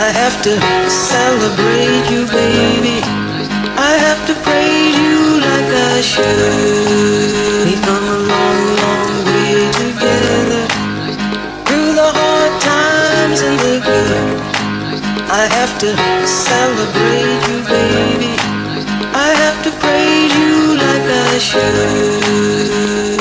I have to celebrate you, baby. I have to praise you like I should. We've come a long, long way together, through the hard times and the good. I have to celebrate you, baby. I have to praise you like I should.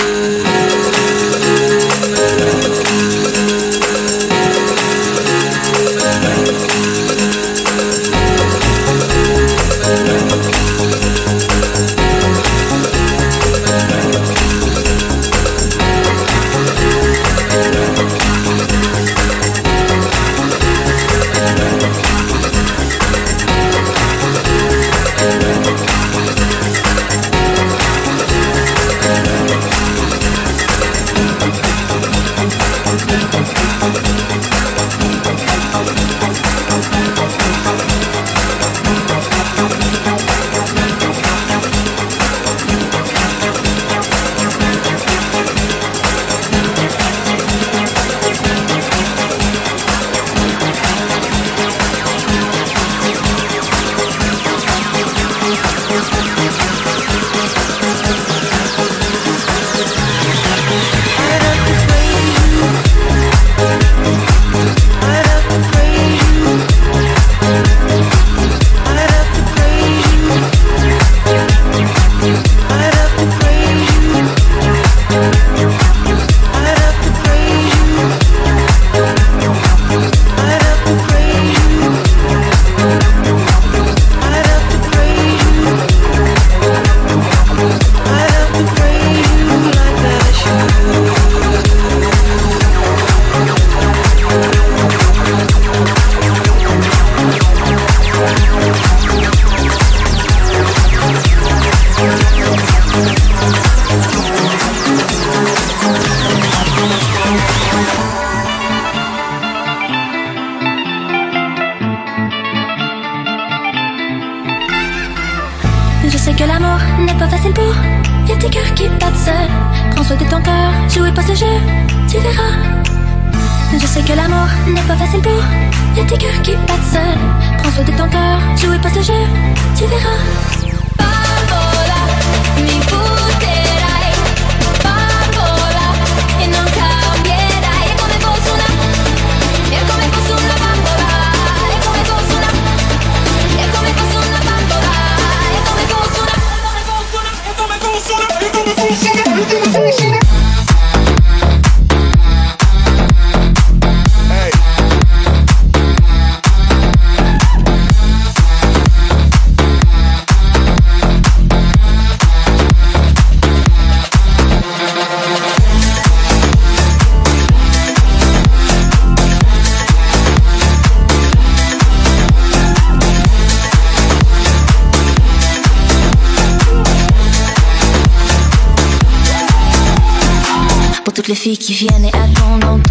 Toutes les filles qui viennent et attendent en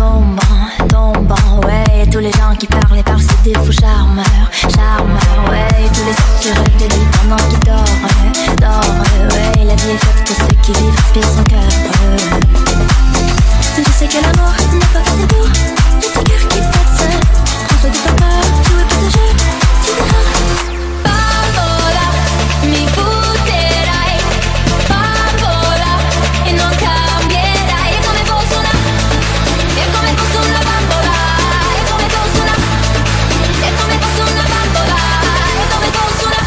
tombant, ouais. Et tous les gens qui parlent et parlent, c'est des fous charmeurs, ouais. Et tous les soirs tu rêves de lui pendant qu'il dort, ouais. La vie est faite pour ceux qui vivent, respirent son cœur. Je sais que l'amour n'est pas facile pour les petits cœurs qui battent seuls. Prends-toi de ton cœur, jouez pas de jeu, tu verras. Bambola, mi puterai, bambola, e non cambierai. È come fosse una bambola, è come fosse una bambola, è come fosse una.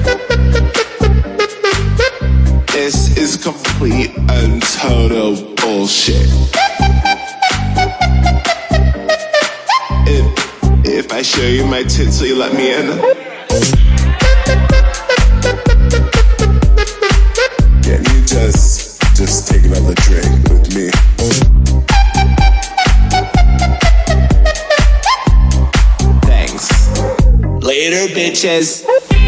complete and total bullshit. bullshit. If I show you my tits, will you let me in? Can you just take another drink with me? Thanks. Later, bitches.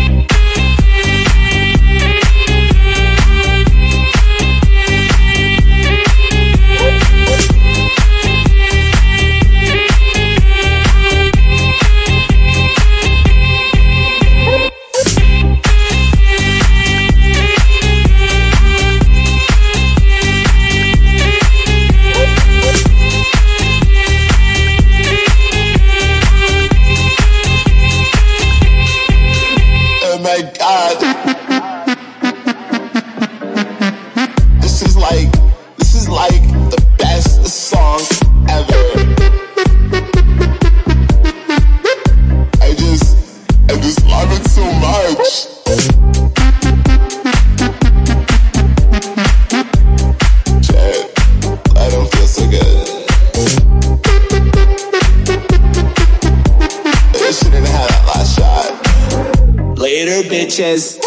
This is like the best song ever. I just love it so much. Shit, I don't feel so good. I shouldn't have that last shot. Later, bitches.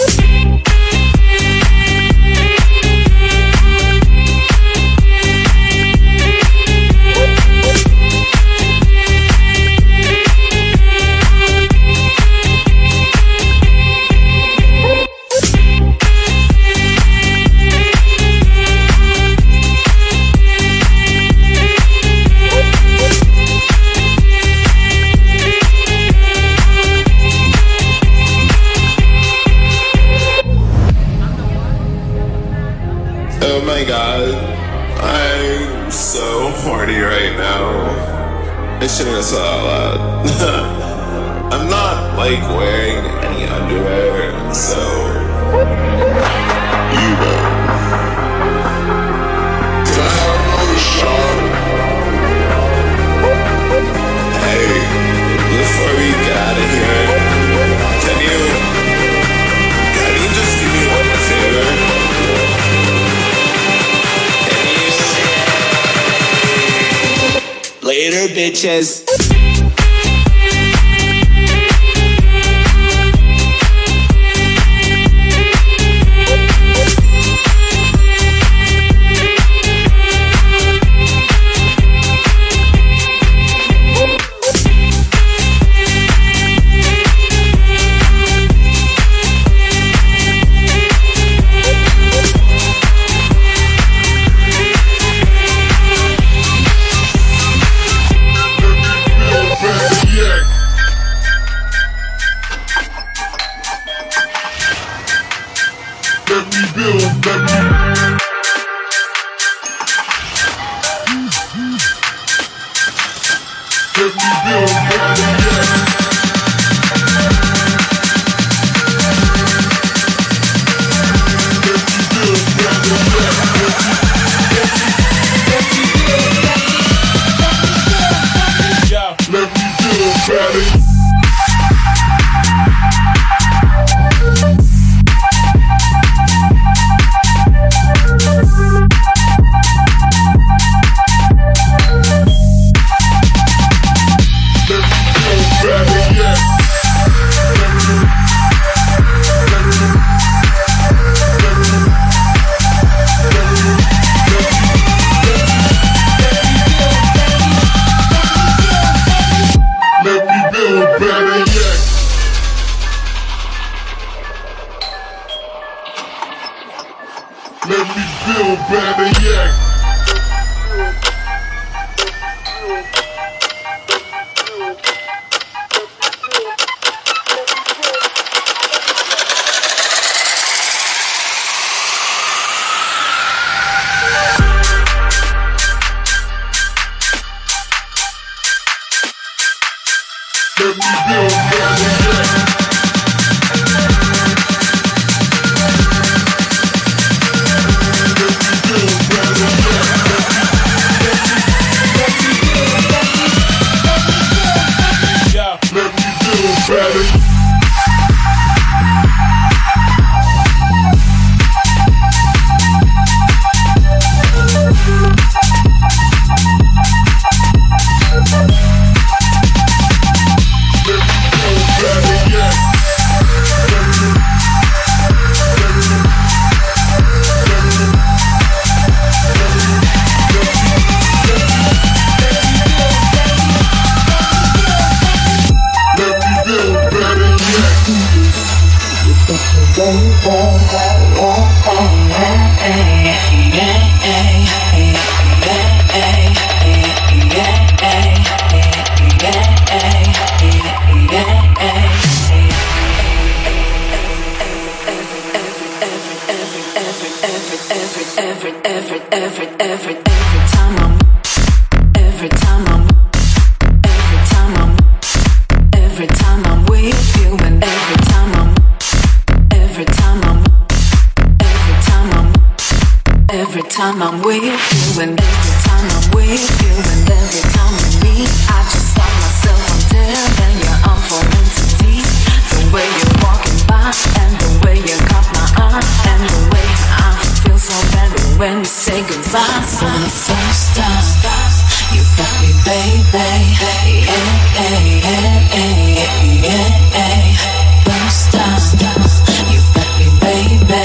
Oh my god, I'm so horny right now. I shouldn't have said that out loud. I'm not like wearing any underwear, so you know. Can I have another shot? Hey, before we get out of here, can you just do me one favor? Later, bitches. Let me feel better, yeah. Let me feel better, yeah. Better. time I'm with you, and every time I'm with you, and every time we meet, I just stop myself until then you're on for entity. The way you're walking by, and the way you caught my eye, and the way I feel so better when we say goodbye. For the first time, you've got me, baby. First time, you've got me, baby.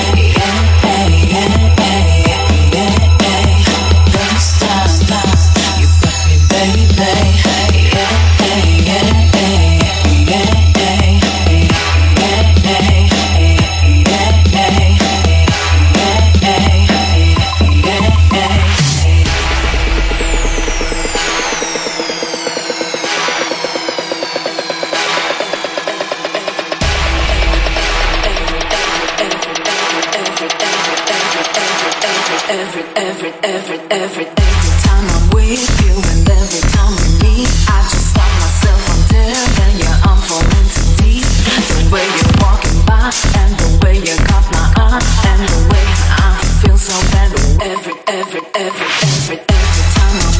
Every time I'm with you, and every time we meet, I just stop myself until then you're on for entity. The way you're walking by, and the way you caught my eye, and the way I feel so better. Every time I'm with you, and every time I'm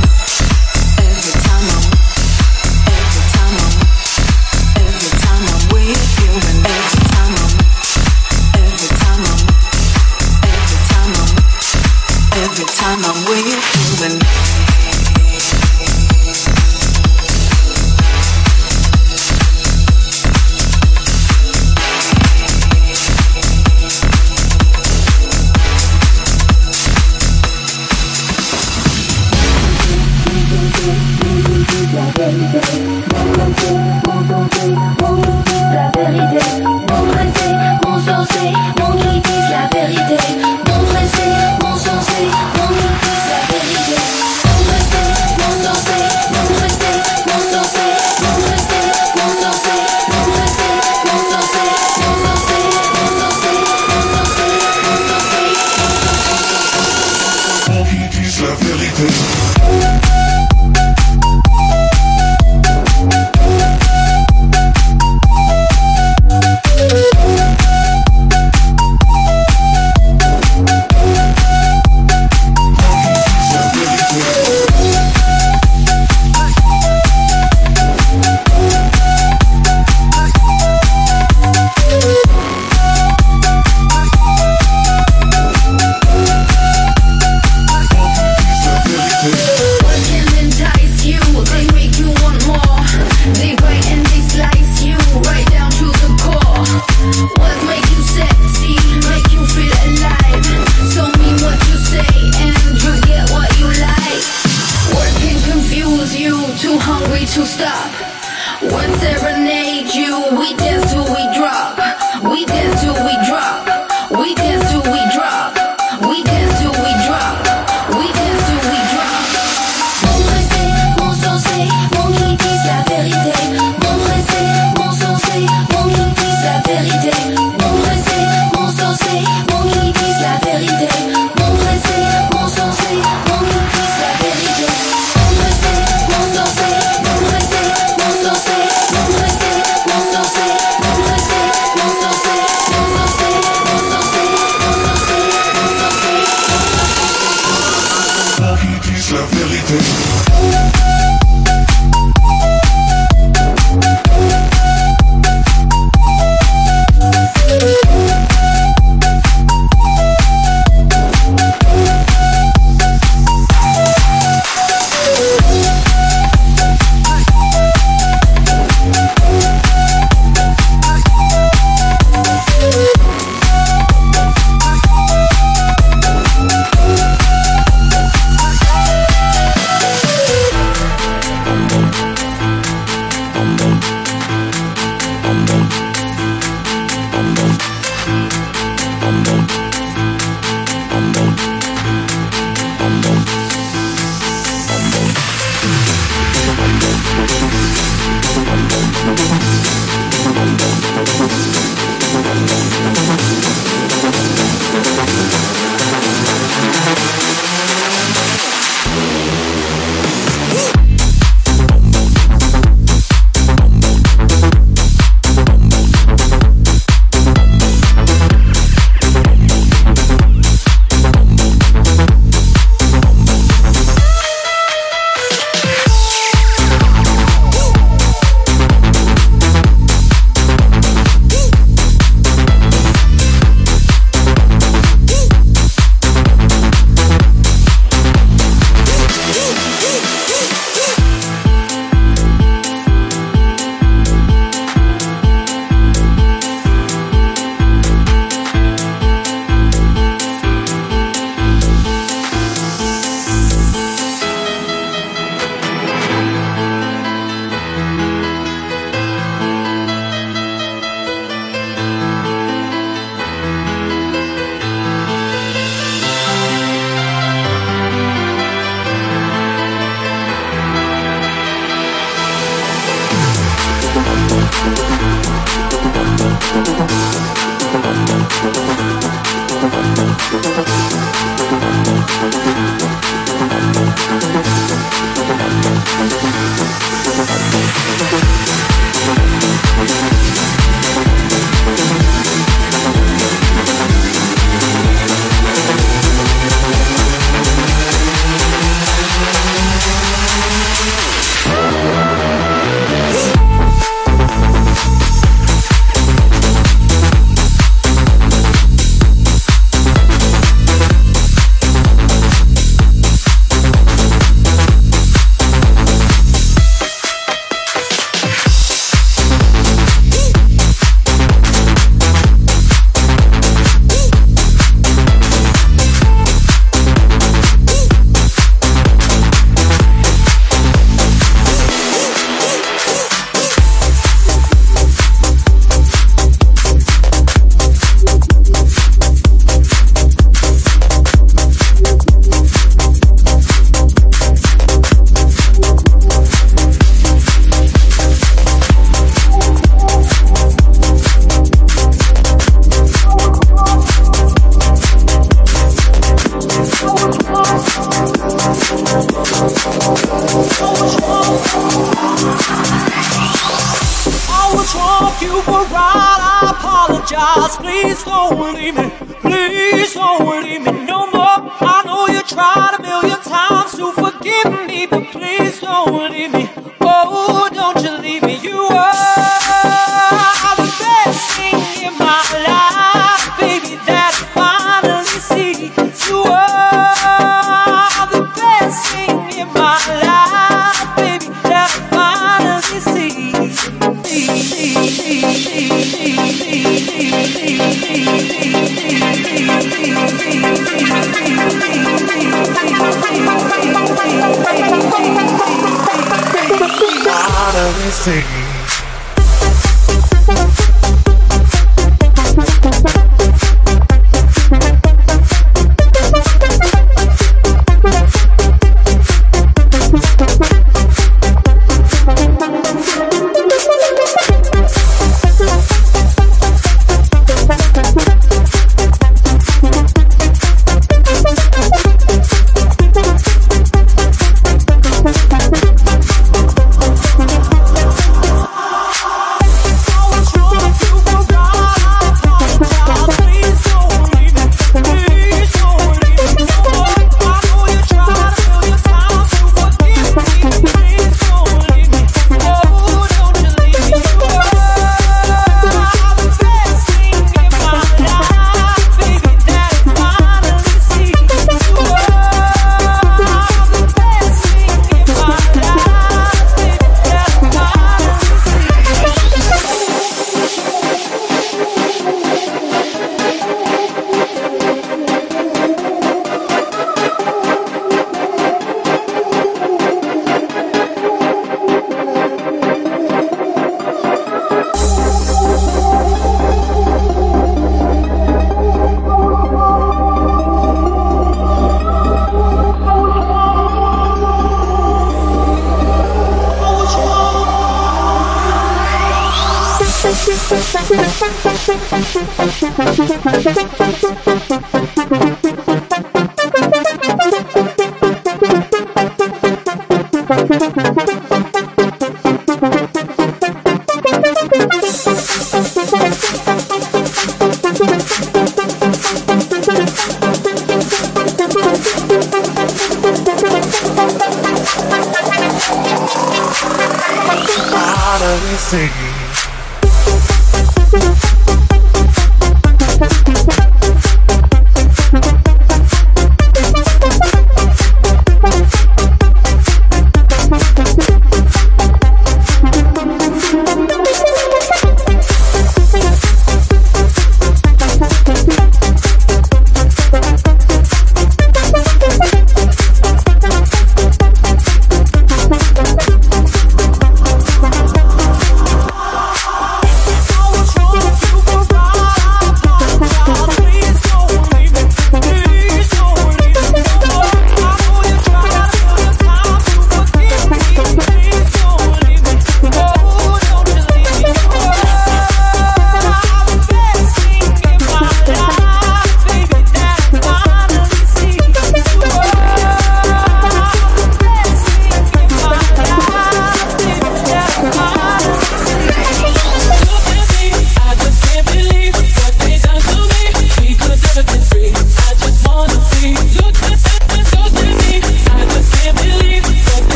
with you and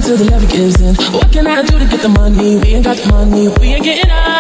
till the love gives in. What can I do to get the money? We ain't got the money, we ain't getting out.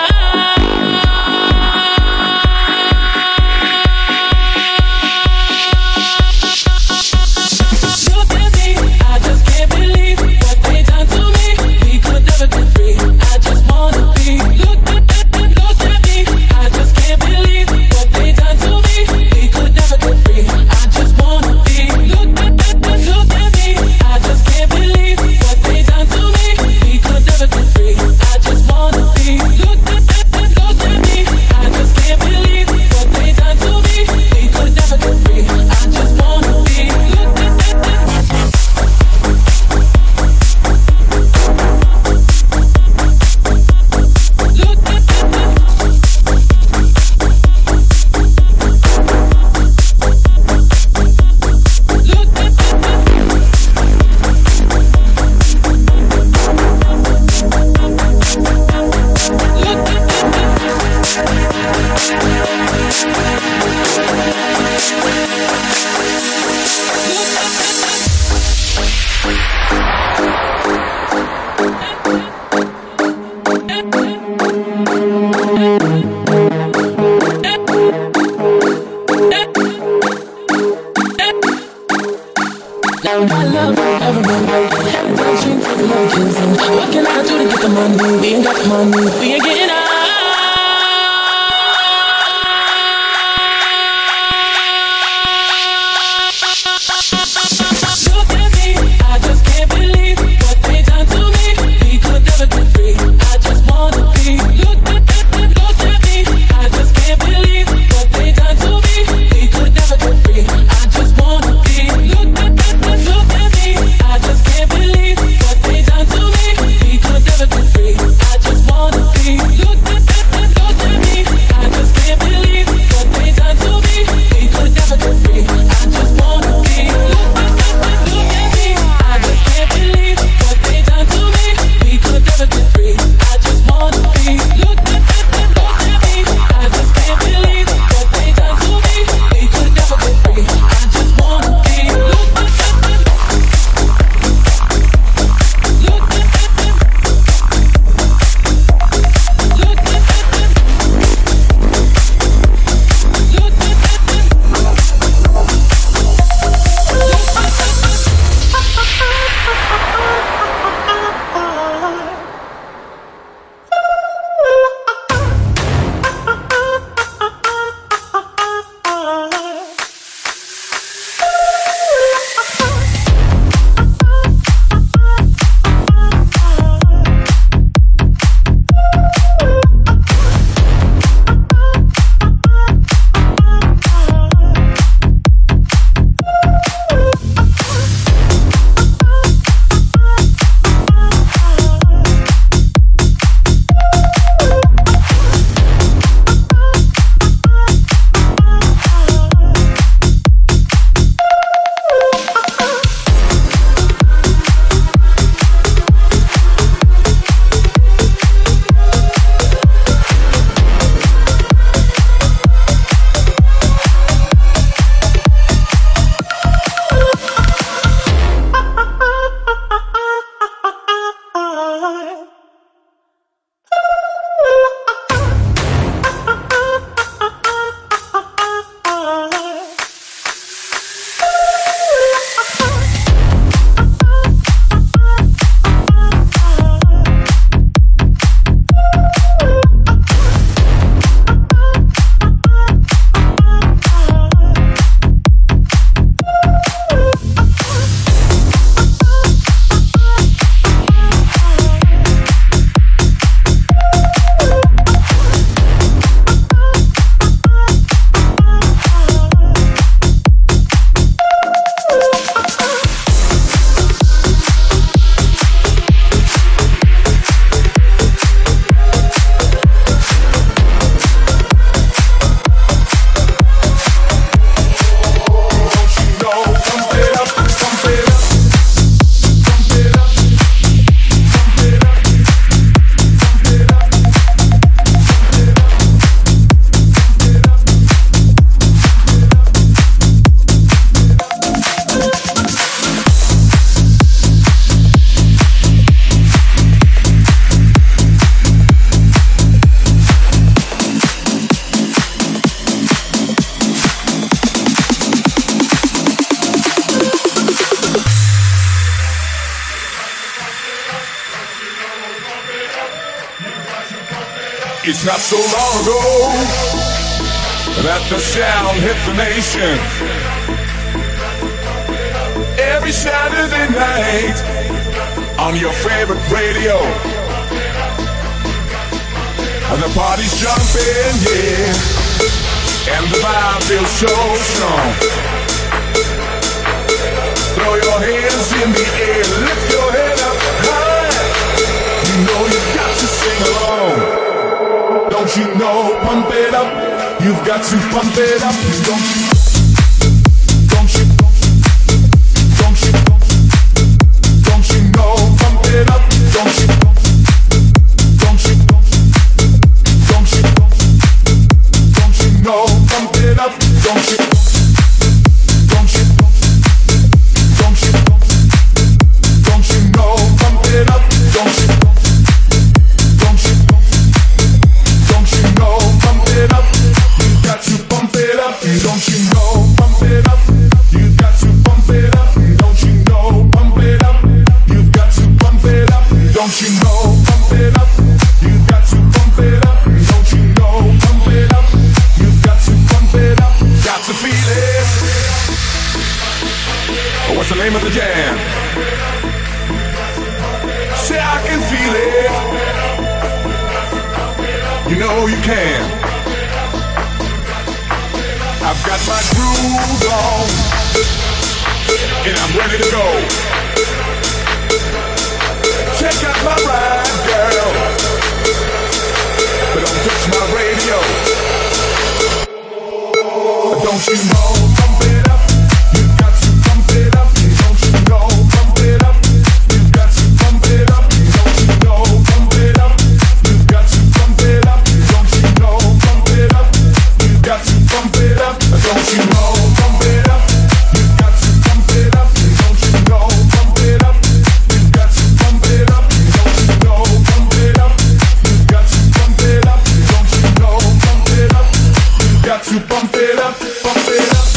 What can I do to get the money? We ain't got the money, we ain't getting out. Look at me, I just can't believe what they done to me. We could never get free. I just wanna be. Look at me, I just can't believe what they done to me. We could never get free. I just wanna be. Look at me, I just can't believe what they done to me. We could never get free. I just wanna be. It's not so long ago that the sound hit the nation. Every Saturday night on your favorite radio, and the party's jumping, yeah, and the vibe feels so strong. Throw your hands in the air, lift your head up high. You know you've got to sing along. Don't you know, pump it up. You've got to pump it up. Don't you know, pump it up. Don't you know, pump it up. Don't you name of the jam. Say I can feel it. You know you can. I've got my groove on, and I'm ready to go. Check out my ride, girl, but don't touch my radio. Don't you know, pump it up. You've got to pump it up. Don't you know, pump it up. You've got to pump it up. Don't you know, pump it up. You've got to pump it up. Don't you know, pump it up. You've got to pump it up. Don't you know, pump it up. You've got to pump it up. Don't you know, pump it up. You've got to pump it up. Don't you know, pump it up. You've got to pump it up. Don't you know, pump it up. You've got to pump it up. Pump it up.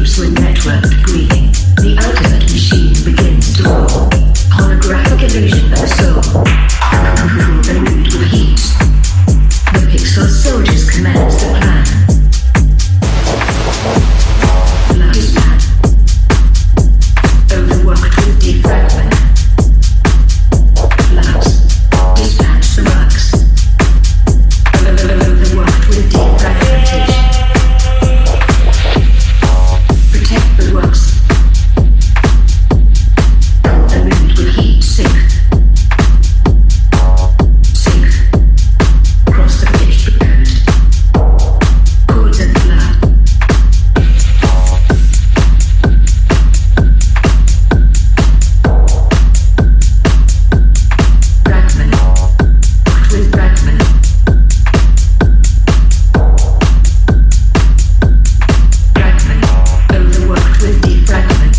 sleeps with networked breathing. The ultimate machine begins to roll. Holographic illusion of the soul. Illumined with heat. The pixel soldiers commence the plan. Blood is bad. Overworked with defragment. Flux. Dispatch the bugs. Overworked with defragmentation. Protect the works. Illumined with heat. Sink. Sink. Across the pitch prepared. Cords and blood. Fragment. Worked with fragment. Fragment. Overworked with defragment.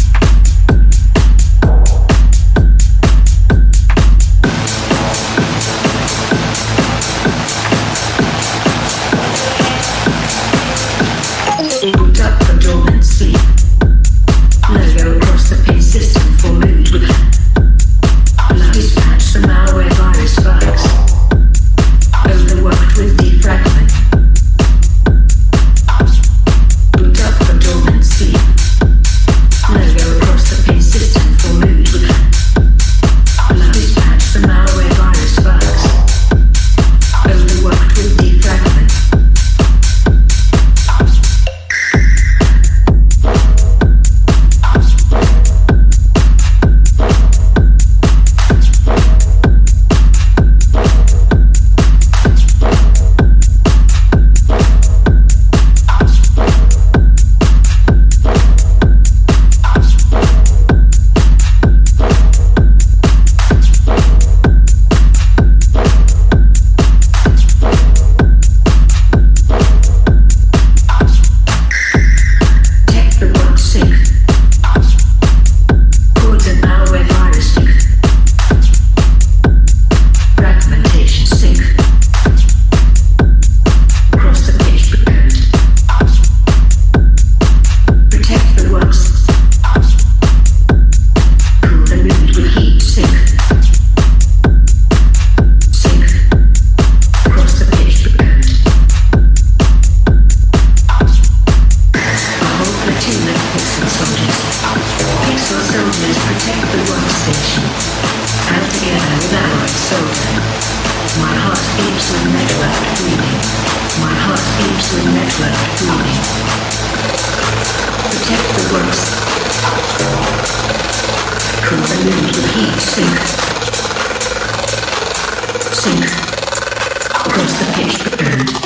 Boot up the dormant sleep. Logo across the pin system for mood with blood. Dispatch the malware virus bugs. Overworked with defragment. Boot up the dormant sleep. Logo across the pin system for mood with blood. Dispatch the malware virus bugs. Overworked with defragment. Tech the works sync. Cords and malware virus sync. Fragmentation sync. Across the page prepared. Protect the works. Cool and moved with heat sync. Sync. Across the page prepared. A whole platoon of pixel soldiers. Pixel soldiers protect the workstation. And together with allied soldiers. My heart beats with networked breathing. My heart beats with networked breathing. Protect the works. Cool and moved with heat sync. Sync. Across the page prepared.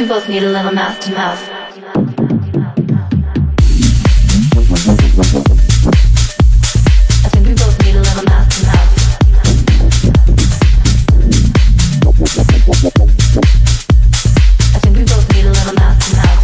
we both need a little mouth to mouth. I think we both need a little mouth to mouth. I think we both need a little mouth to mouth.